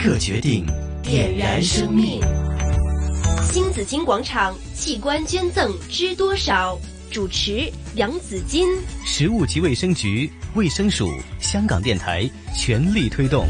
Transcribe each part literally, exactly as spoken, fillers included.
刻決定，點燃生命。 新紫荊廣場器官捐贈知多少？主持楊子矜。 食物及衛生局、衛生署、香港電台全力推動。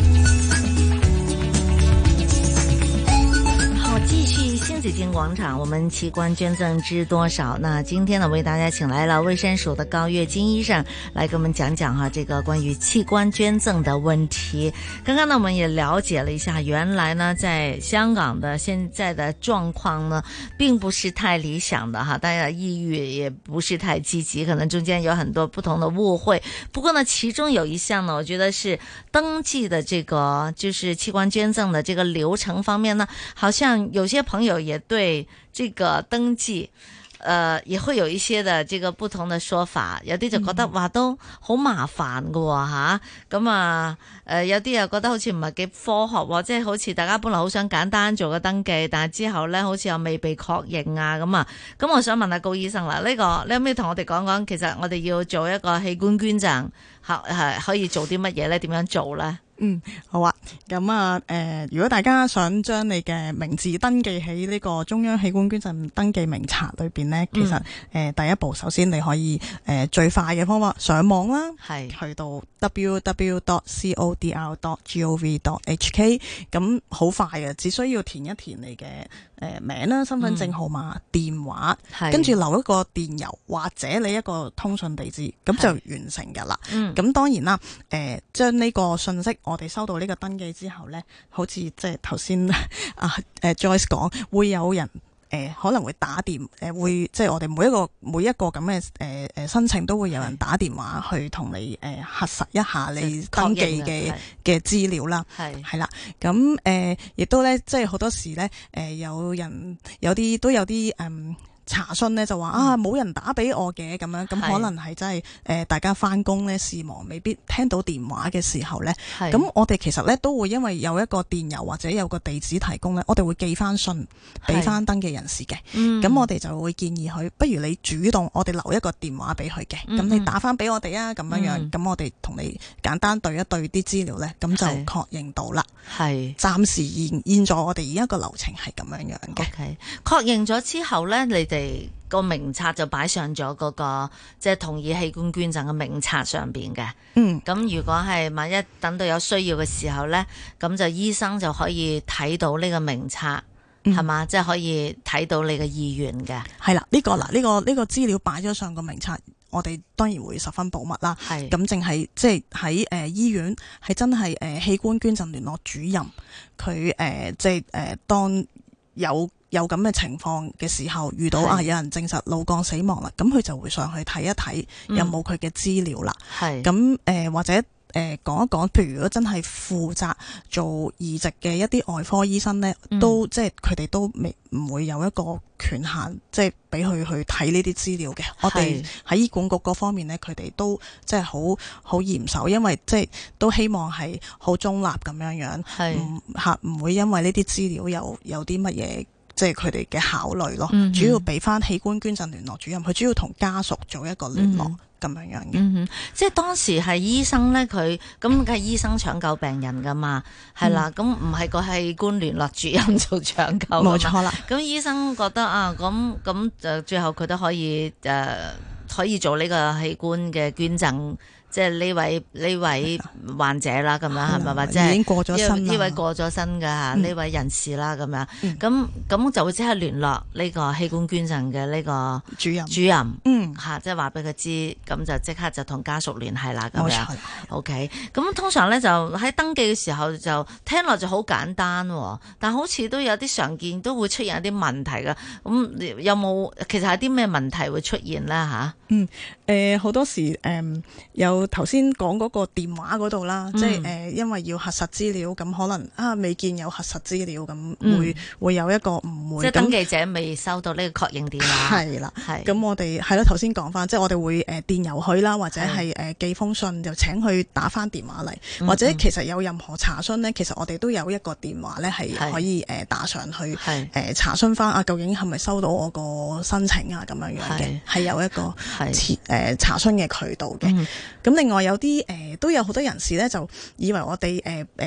好，繼續新紫荊廣場，我們器官捐贈知多少？那今天呢，為大家請來了衛生署的高月金醫生來跟我們講講哈，這個關於器官捐贈的問題。剛剛呢，我們也了解了一下，原來呢，在香港的現在的狀況呢，並不是太理想的哈，大家抑鬱也不是太積極，可能中間有很多不同的誤會。不過呢，其中有一項呢，我覺得是登記的這個，就是器官捐贈的這個流程方面呢，好像有些朋友也對這個登記，呃，也會有一些的這個不同的說法。有啲就覺得話都好麻煩㗎喎吓，咁啊，誒有啲又覺得好似唔係幾科學喎，即係好似大家本來好想簡單做個登記，但係之後咧好似又未被確認啊咁啊。咁我想問下高醫生啦，呢個你可唔可以同我哋講講，其實我哋要做一個器官捐贈，係係可以做啲乜嘢咧？點樣做咧？ 嗯，好啊。咁啊，誒、呃，如果大家想將你嘅名字登記喺呢個中央器官捐贈登記名冊裏邊呢，其實誒、嗯呃、第一步，首先你可以誒、呃、最快嘅方法上網啦，係去到 w w w dot c o d r dot gov dot h k， 咁好快嘅，只需要填一填你嘅誒名啦、身份證號碼、嗯、電話，跟住留一個電郵或者你一個通訊地址，咁就完成㗎啦。咁、嗯、當然啦，誒將呢個信息。我哋收到呢個登記之後呢，好似即係頭先啊誒 Joyce 講，會有人誒、呃、可能會打電誒、呃、會即係我哋每一個每一個咁嘅誒誒申請都會有人打電話去同你誒、呃、核實一下你登記嘅嘅資料啦，係係啦，咁誒亦都呢，即係好多時呢，誒、呃、有人有啲都有啲誒。嗯查詢咧就話啊冇人打俾我嘅咁樣，咁可能係真係誒大家翻工咧事忙，未必聽到電話嘅時候咧，咁我哋其實咧都會因為有一個電郵或者有個地址提供咧，我哋會寄翻信俾翻登記人士嘅。咁、嗯、我哋就會建議佢，不如你主動，我哋留一個電話俾佢嘅，咁、嗯、你打翻俾我哋啊，咁樣樣，咁、嗯、我哋同你簡單對一對啲資料咧，咁就確認到啦。係暫時現現在我哋而家個流程係咁樣樣嘅。 OK， 確認咗之後咧，你哋個名冊就擺上咗嗰、那個即係、就是、同意器官捐贈嘅名冊上邊嘅。嗯，咁如果係萬一等到有需要嘅時候呢，咁就醫生就可以睇到呢個名冊，係、嗯、嘛？即係、就是、可以睇到你嘅意願嘅。係啦， 呢、這個嗱，呢、這個呢、這個資料擺咗上個名冊，我哋當然會十分保密啦。係咁，淨係即係喺誒醫院係真係誒、呃、器官捐贈聯絡主任，佢誒即係誒當有。有咁嘅情況嘅時候，遇到啊有人證實腦幹死亡啦，咁佢就會上去睇一睇有冇佢嘅資料啦。係咁誒，或者誒講、呃、一講，譬如如果真係負責做移植嘅一啲外科醫生咧、嗯，都即係佢哋都未唔會有一個權限，即係俾佢去睇呢啲資料嘅。我哋喺醫管局嗰方面咧，佢哋都即係好好嚴守，因為即係都希望係好中立咁樣樣，唔嚇唔會因為呢啲資料有有啲乜嘢。即係佢哋嘅考慮咯、嗯，主要俾翻器官捐贈聯絡主任，佢主要同家屬做一個聯絡咁、嗯、樣樣嘅、嗯。 即係當時係醫生咧，佢咁梗係醫生搶救病人噶嘛，係、嗯、啦，咁唔係個器官聯絡主任做搶救。冇錯啦。咁醫生覺得啊，咁咁就最後佢都可以誒、呃，可以做呢個器官嘅捐贈。即係呢位呢位患者啦，咁樣係咪？或者已經過咗身呢位過咗身嘅吓呢位人士啦，咁樣咁咁就會即刻聯絡呢個器官捐贈嘅呢個主任主任，嗯吓，即係話俾佢知，咁就即刻就同家屬聯繫啦，咁樣。OK， 咁通常咧就喺登記嘅時候就聽落就好簡單，但好似都有啲常見都會出現一啲問題㗎。咁有冇其實係啲咩問題會出現咧吓？ 嗯，誒、呃、好多時誒、呃、有頭先講嗰個電話嗰度啦，嗯、即係誒、呃、因為要核實資料，咁可能啊未見有核實資料，咁會、嗯、會有一個誤會。即係登記者未收到呢個確認電話。係啦，係。咁我哋係咯，頭先講翻，即係我哋會誒、呃、電郵佢啦，或者係誒、呃、寄封信，就請佢打翻電話嚟、嗯，或者其實有任何查詢咧，其實我哋都有一個電話咧係可以誒、呃、打上去誒、呃、查詢翻啊，究竟係咪收到我個申請啊咁樣樣嘅，係有一個。誒、呃、查詢嘅渠道嘅，咁、嗯、另外有啲誒、呃、都有好多人士咧就以為我哋誒誒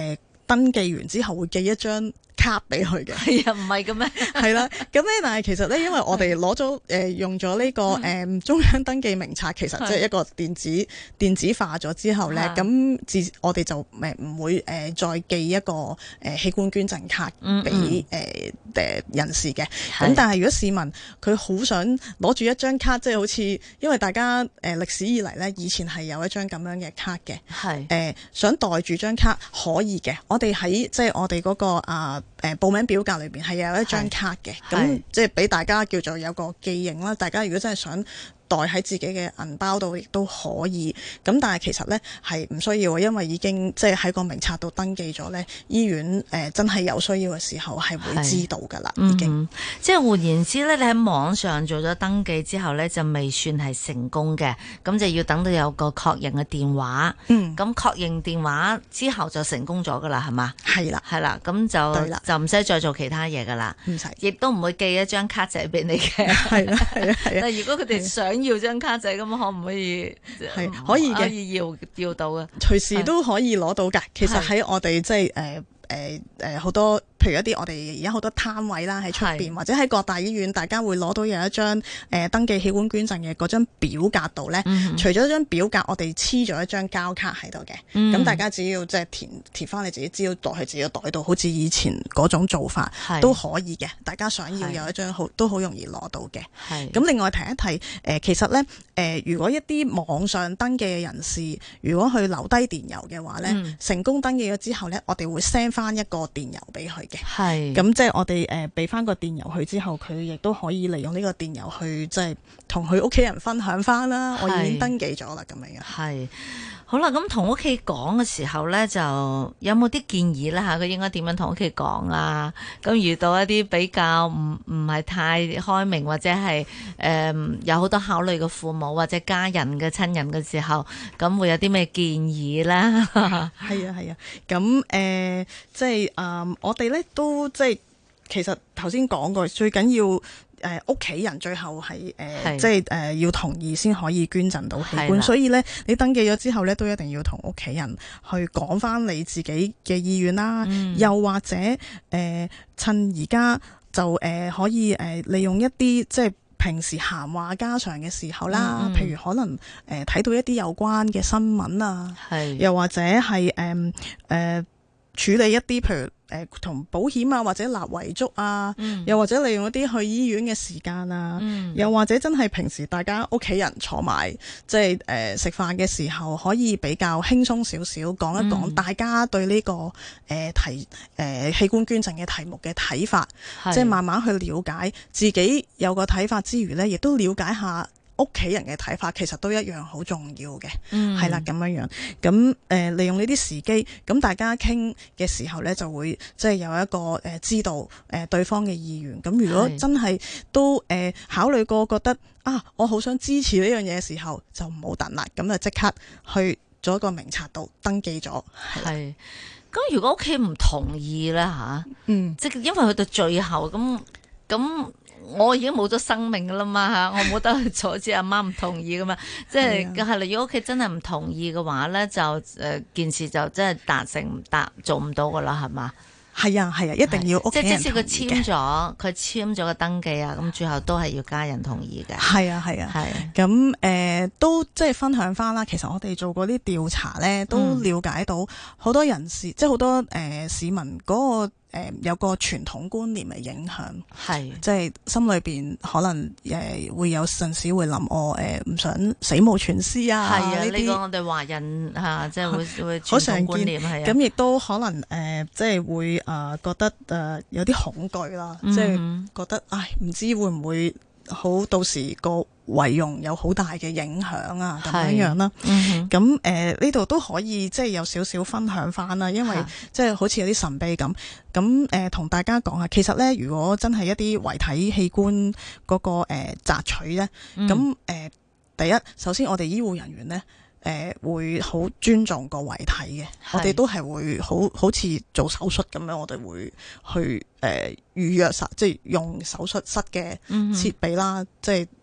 登記完之後會寄一張卡俾佢嘅。 係啊，唔係嘅咩？ 係啦，咁咧，但係其實咧，因為我哋攞咗誒用咗呢、這個誒、呃、中央登記名冊，其實即係一個電子電子化咗之後咧，咁自我哋就誒唔會誒、呃、再寄一個誒、呃、器官捐贈卡俾誒誒人士嘅。咁但係如果市民佢好想攞住一張卡，即、就、係、是、好似因為大家誒歷、呃、史以嚟咧，以前係有一張咁樣嘅卡嘅，係誒、呃、想袋住張卡可以嘅。我哋喺即係我哋嗰、那個啊。誒、呃、報名表格裏邊係有一張卡嘅，咁即係俾大家叫做有個記認啦。大家如果真係想袋喺自己嘅銀包度，亦都可以。咁但係其實咧係唔需要，因為已經即係喺個名冊度登記咗咧。醫院誒、呃、真係有需要嘅時候係會知道㗎啦，已經。嗯、 即係換言之咧，你喺網上做咗登記之後咧，就未算係成功嘅，咁就要等到有個確認嘅電話。嗯。咁確認電話之後就成功咗㗎啦，係嘛？係啦，係啦，咁就就唔使再做其他嘢㗎啦。唔使。亦都唔會寄一張卡仔俾你嘅。係啦，係啊，係啊。但係如果佢哋想要張卡仔，咁可唔可以？係可以嘅，可以要要到嘅，隨時都可以攞到㗎。其實喺我哋即係誒誒誒好多，譬如一啲我哋而家好多攤位啦，喺出邊或者喺各大醫院，大家會攞到有一張誒、呃、登記器官捐贈嘅嗰張表格度咧。嗯、除咗張表格，我哋黐咗一張膠卡喺度嘅。咁、嗯、大家只要即係填填翻你自己資料袋去自己袋度，好似以前嗰種做法都可以嘅。大家想要有一張好都好容易攞到嘅。咁另外提一提誒、呃，其實咧誒、呃，如果一啲網上登記嘅人士，如果去留低電郵嘅話咧，嗯、成功登記咗之後咧，我哋會 send 翻一個電郵俾佢嘅。係，咁即係我哋誒俾翻個電郵佢之後，佢亦都可以利用呢個電郵去即係同佢屋企人分享翻啦。我已經登記咗啦，咁樣樣。係，好啦，咁同屋企講嘅時候咧，就有冇啲建議咧吓？佢應該點樣同屋企講啊？咁遇到一啲比較唔唔係太開明或者係誒、呃、有好多考慮嘅父母或者家人嘅親人嘅時候，咁會有啲咩建議咧？係啊係啊，咁誒、呃、即係誒、呃、我哋咧都即係其實頭先講過，最緊要。誒屋企人最後係誒、呃、即係誒、呃、要同意先可以捐贈到器官，所以咧你登記咗之後咧都一定要同屋企人去講翻你自己嘅意願啦，嗯、又或者誒、呃、趁而家就誒、呃、可以誒、呃、利用一啲即係平時閒話家常嘅時候啦，嗯、譬如可能誒睇、呃、到一啲有關嘅新聞啊，又或者係誒誒處理一啲譬如。誒同、呃、保險啊，或者立遺囑啊，嗯、又或者利用一啲去醫院嘅時間啊，嗯、又或者真係平時大家屋企人坐埋，即係誒食飯嘅時候，可以比較輕鬆少少講一講大家對呢、這個誒、呃、題誒、呃、器官捐贈嘅題目嘅睇法，是即係慢慢去了解自己有個睇法之餘呢，亦都了解下。屋企人嘅睇法其實都一樣好重要嘅，係啦咁樣樣。咁誒、呃、利用呢啲時機，咁大家傾嘅時候咧，就會即係有一個誒、呃、知道誒、呃、對方嘅意願。咁如果真係都誒、呃、考慮過，覺得啊，我好想支持呢樣嘢嘅時候，就唔好等啦。咁就即刻去咗一個名冊度登記咗。係。咁如果屋企唔同意咧吓，嗯，即係因為去到最後咁咁。我已經冇咗生命噶啦嘛吓，我冇得去阻止阿媽唔同意噶嘛，即係係啦。如果屋企真係唔同意嘅話咧，就誒、呃、件事就真係達成唔達做唔到噶啦，係嘛？係啊係啊，一定要屋企人同意嘅。即係即使佢簽咗，佢簽咗個登記啊，咁最後都係要家人同意嘅。係啊係啊係。咁誒、呃、都即係分享翻啦。其實我哋做過啲調查咧，都了解到好多人士，嗯、即係好多誒、呃、市民嗰、嗰個。誒、呃、有個傳統觀念嘅影響，係即係心裏邊可能誒、呃、會有陣時會諗我誒唔想死無全屍啊，係啊，呢啲我哋華人嚇、啊、即係會會傳統觀念係啊，咁亦都可能誒、呃、即係會誒、呃、覺得誒、呃、有啲恐懼啦，嗯、即係覺得唉唔知會唔會好到時個遺容有好大嘅影響啊，咁樣樣啦。咁誒呢度都可以即係有少少分享翻啦，因為即係好似有啲神秘咁。咁誒同大家講下，其實咧如果真係一啲遺體器官嗰、那個誒、呃、摘取咧，咁誒、嗯呃、第一首先我哋醫護人員咧。誒、呃、會好尊重個遺體嘅，我哋都係會好好似做手術咁樣，我哋會去誒、呃、預約實，即係用手術室嘅設備啦，嗯、哼即係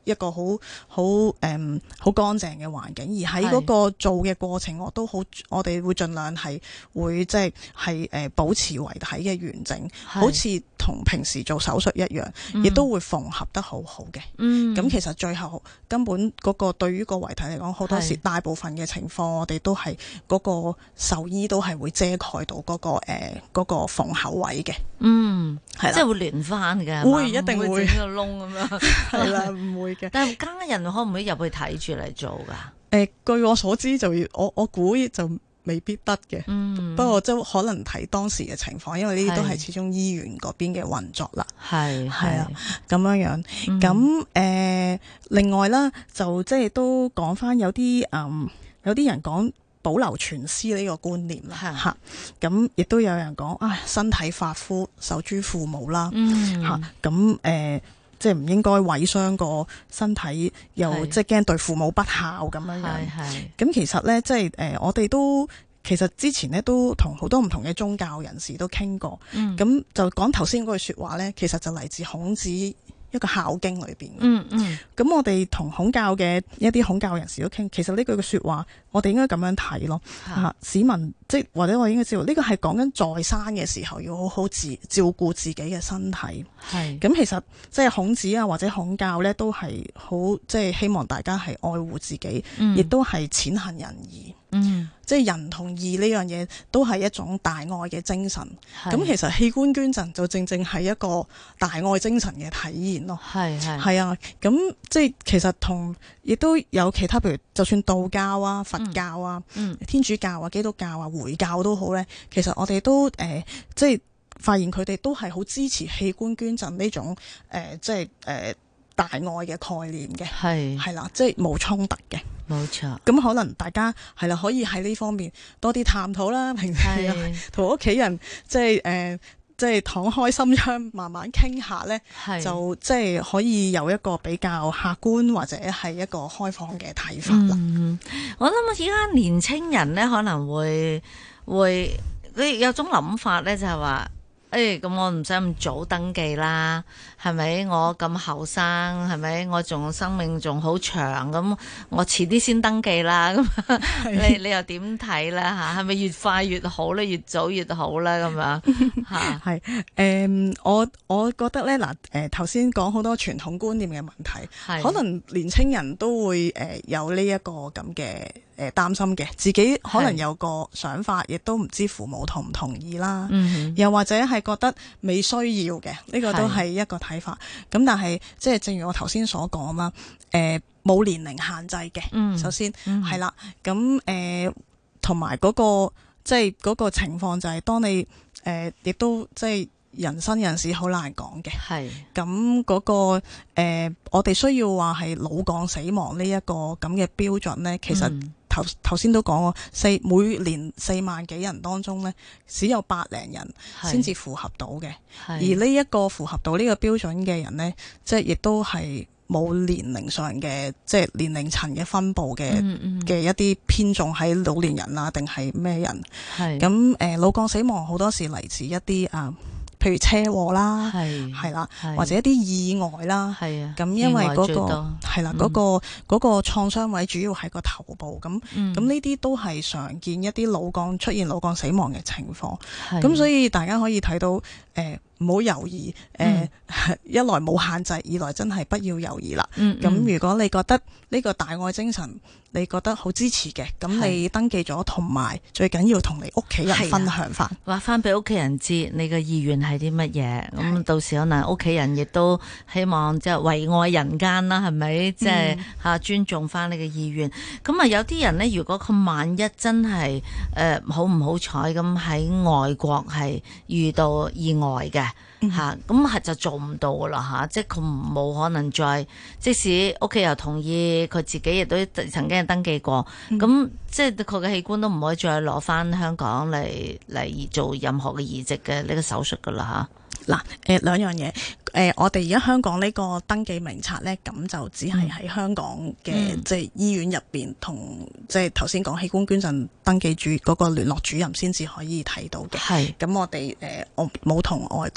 一個好好誒好乾淨嘅環境，而喺嗰個做嘅過程，我都好，我哋會盡量係會即係係誒保持遺體嘅完整，好似同平時做手術一樣，亦、嗯、都會縫合得好好嘅。嗯，咁其實最後根本嗰個對於個遺體嚟講，好多時大部分嘅情況，我哋都係嗰個獸醫都係會遮蓋到嗰、嗰個誒嗰、呃嗰個縫口位嘅。嗯，係啦，即係會連翻嘅， 會一定會整個窿咁樣， 係啦，唔會嘅。 但係家人可唔可以入去睇住嚟做噶？誒、 呃，據我所知就要我我估就未必得嘅。嗯，不過即可能睇當時嘅情況，因為呢啲都係始終醫院嗰邊嘅運作啦。係係啊，咁樣樣。咁誒、嗯呃，另外啦，就即係都講翻有啲嗯，有啲人講保留全屍呢個觀念啦，吓，咁亦都有人講啊，身體髮膚受諸父母啦，吓，咁誒，即係唔應該毀傷個身體，又即係驚對父母不孝咁樣樣。咁其實咧，即係誒，我哋都其實之前咧都同好多唔同嘅宗教人士都傾過，咁、嗯、就講頭先嗰句說話咧，其實就嚟自孔子一個孝經裏邊。嗯嗯，咁我哋同孔教嘅一啲孔教人士都傾，其實呢句嘅說話，我哋應該咁樣睇咯。啊，市民即係或者我應該知道，呢個係講緊在生嘅時候要好好自照顧自己嘅身體。係，咁其實即係孔子啊或者孔教咧，都係好即係希望大家係愛護自己，亦都係踐行仁義。嗯，即係仁同義呢樣嘢都係一種大愛嘅精神。咁其實器官捐贈就正正係一個大愛精神嘅體現咯。係係係啊，咁即係其實同亦都有其他，譬如就算道教啊、佛教啊、嗯、天主教啊、基督教啊、回教都好咧，其實我哋都誒、呃、即係發現佢哋都係好支持器官捐贈呢種誒、呃、即係誒、呃、大愛嘅概念嘅。係係啦，即係冇衝突嘅。冇錯，咁可能大家係啦，可以喺呢方面多啲探討啦。平時同屋企人即係誒，即係敞開心窗，慢慢傾下咧，就即係可以有一個比較客觀或者係一個開放嘅睇法啦。嗯， 我諗而家年青人咧可能會會你有種諗法咧，就係話。誒，咁、哎、我唔使咁早登記啦，係咪？我咁後生，係咪？我仲生命仲好長，咁我遲啲先登記啦。咁你你又點睇咧？吓，係咪越快越好咧？越早越好咧？咁樣吓，係誒、 嗯，我我覺得咧嗱，誒頭先講好多傳統觀念嘅問題，可能年青人都會誒有呢一個咁嘅。誒擔心嘅，自己可能有個想法，亦都唔知父母同唔同意啦。嗯、又或者係覺得未需要嘅，呢、呢個都係一個睇法。咁但係即係正如我頭先所講啦，誒、呃、冇年齡限制嘅。嗯、首先係啦，咁誒同埋嗰個即係嗰個情況就係當你誒、呃、亦都即係。人生人事好難講嘅，係咁嗰個誒、呃，我哋需要話係腦幹死亡呢一個咁嘅標準咧，其實頭頭先都講過，四每年四萬幾人當中咧，只有百零人先至符合到嘅，而呢一個符合到呢個標準嘅人咧，即係亦都係冇年齡上嘅即係年齡層嘅分佈嘅嘅、嗯嗯、一啲偏重喺老年人啊，定係咩人？係咁誒，腦幹死亡好多時嚟自一啲啊。譬如車禍啦，係係啦，或者一啲意外啦，係啊，咁因為嗰個係啦，嗰個嗰個創傷位主要喺個頭部，咁咁呢啲都係常見一啲腦幹出現腦幹死亡嘅情況，咁所以大家可以睇到誒。呃唔好猶豫，誒、呃嗯、一來冇限制，二來真係不要猶豫啦。咁、嗯嗯、如果你覺得呢個大愛精神，你覺得好支持嘅，咁你登記咗，同埋最緊要同你屋企人分享翻， 話翻俾屋企人知你嘅意願係啲乜嘢。咁到時可能屋企人亦都希望即係為愛人間啦，係咪？即係嚇尊重翻你嘅意願。咁啊、嗯，有啲人呢，如果佢萬一真係誒、呃、好唔好彩咁喺外國係遇到意外嘅。吓，咁係、嗯、就做唔到噶啦吓，即係佢冇可能再，即使屋企又同意，佢自己亦都曾經登記過，咁、嗯、即係佢嘅器官都唔可以再攞翻香港嚟嚟做任何嘅移植嘅呢個手術噶啦吓。 嗱，誒兩樣嘢，誒、呃、我哋而家香港呢個登記名冊咧，咁就只係喺香港嘅、嗯、即係醫院入邊同即係頭先講器官捐贈登記主嗰個聯絡主任先至可以睇到嘅。係，咁我哋誒我冇同外國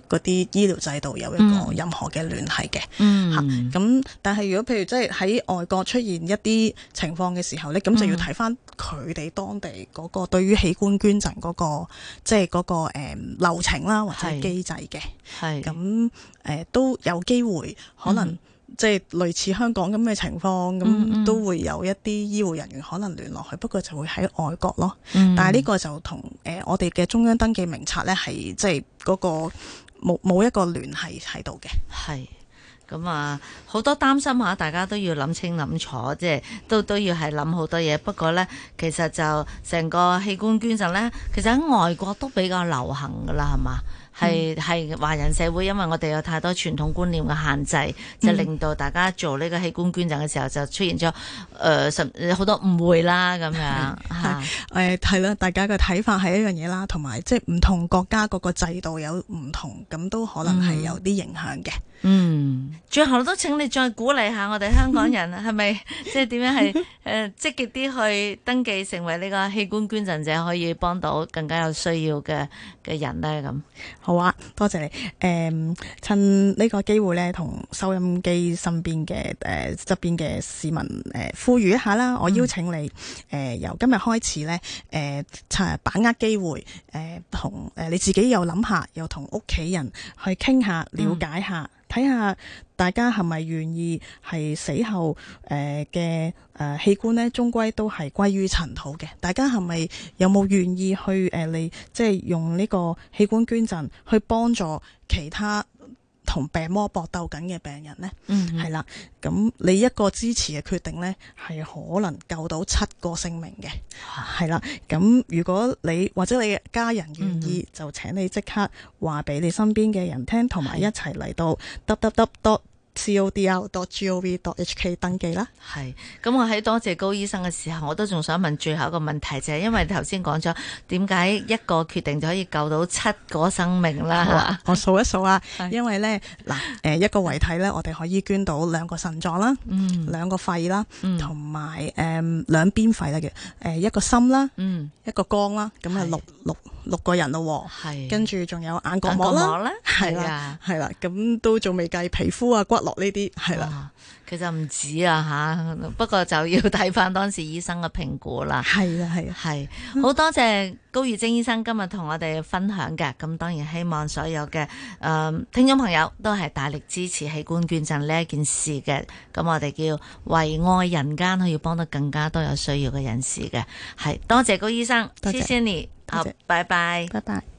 嗰啲醫療制度有一個任何嘅聯繫嘅。 嗯， 嚇咁、啊，但係如果譬如即係喺外國出現一啲情況嘅時候咧，咁就要睇翻佢哋當地嗰個對於器官捐贈嗰、那個即係嗰個誒、嗯、流程啦，或者機制嘅。 係咁誒都有機會可能、嗯。即係類似香港咁嘅情況，咁、嗯、都會有一啲醫護人員可能聯絡佢，不過就會喺外國咯。嗯、但係呢個就同誒、呃、我哋嘅中央登記名冊咧，係即係嗰個冇冇一個聯繫喺度嘅。 係咁啊，好多擔心下，大家都要諗清諗楚，即係都都要係諗好多嘢。不過咧，其實就成個器官捐贈咧，其實喺外國都比較流行噶啦，係嘛？係係華人社會，因為我哋有太多傳統觀念嘅限制，就令到大家做呢個器官捐贈嘅時候，就出現咗誒甚好多誤會啦咁樣嚇。 誒係啦，大家嘅睇法係一樣嘢啦，同埋即係唔同國家嗰個制度有唔同，咁都可能係有啲影響嘅。 嗯，最後都請你再鼓勵下我哋香港人，係咪即係點樣係誒積極啲去登記成為呢個器官捐贈者，可以幫到更加有需要嘅嘅人咧咁。 好啊，多謝你。誒、嗯，趁呢個機會咧，同收音機身邊嘅誒側邊嘅市民誒、呃、呼籲一下啦。我邀請你誒、呃、由今日開始咧，誒、呃、趁把握機會，誒同誒你自己又諗下，又同屋企人去傾下，了解下。嗯睇下大家係咪願意係死後誒嘅誒器官咧，終歸都係歸於塵土嘅。大家係咪有冇願意去誒你、呃、即係用呢個器官捐贈去幫助其他同病魔搏鬥緊嘅病人呢？嗯，係啦。咁你一個支持嘅決定呢，係可能救到七個性命嘅。係啦。咁如果你或者你嘅家人願意，嗯、就請你即刻話俾你身邊嘅人聽，同埋一齊嚟到 w w w c o d l dot gov dot h k 登記啦。 係，咁我喺多謝高醫生嘅時候，我都仲想問最後一個問題，就係因為頭先講咗點解一個決定就可以救到七個生命啦？ 我數一數啊，因為咧嗱，誒一個遺體咧，我哋可以捐到兩個腎臟啦，嗯，兩個肺啦，同埋誒兩邊肺啦嘅，誒一個心啦，嗯，一個肝啦，咁啊六六六個人咯，係，跟住仲有眼角膜啦，係啦，係啦，咁都仲未計皮膚啊骨骼呢啲係啦， 其實唔止啊吓，不過就要睇翻當時醫生嘅評估啦。 係啊係啊， 係好多謝高月晶醫生今日同我哋分享嘅。咁當然希望所有嘅誒、呃、聽眾朋友都係大力支持器官捐贈呢一件事嘅。咁我哋叫為愛人間，可以幫到更加多有需要嘅人士嘅。係多謝高醫生，謝謝你，好，拜拜， 拜拜。